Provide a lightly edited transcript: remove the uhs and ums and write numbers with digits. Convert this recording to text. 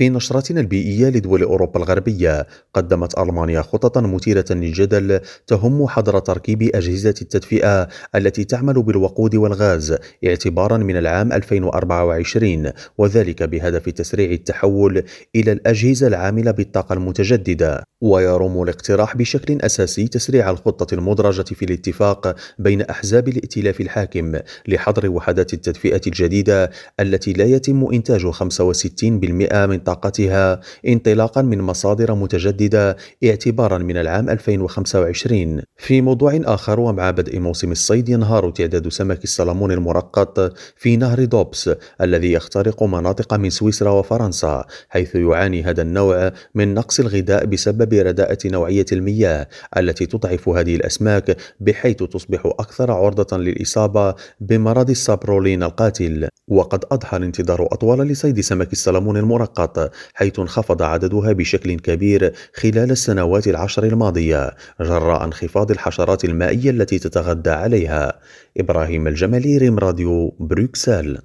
في نشرتنا البيئية لدول أوروبا الغربية، قدمت ألمانيا خططا مثيرة للجدل تهم حظر تركيب أجهزة التدفئة التي تعمل بالوقود والغاز اعتبارا من العام 2024، وذلك بهدف تسريع التحول إلى الأجهزة العاملة بالطاقة المتجددة. ويروم الاقتراح بشكل أساسي تسريع الخطة المدرجة في الاتفاق بين أحزاب الائتلاف الحاكم لحظر وحدات التدفئة الجديدة التي لا يتم إنتاج 65% من طاقتها انطلاقا من مصادر متجددة اعتبارا من العام 2025. في موضوع آخر، ومع بدء موسم الصيد ينهار تعداد سمك السلمون المرقط في نهر دوبس الذي يخترق مناطق من سويسرا وفرنسا، حيث يعاني هذا النوع من نقص الغذاء بسبب رداءة نوعية المياه التي تضعف هذه الأسماك بحيث تصبح أكثر عرضة للإصابة بمرض السابرولين القاتل. وقد أضحى الانتظار أطول لصيد سمك السلمون المرقط، حيث انخفض عددها بشكل كبير خلال السنوات العشر الماضية جراء انخفاض الحشرات المائية التي تتغذى عليها. إبراهيم الجمالي، ريم راديو، بروكسل.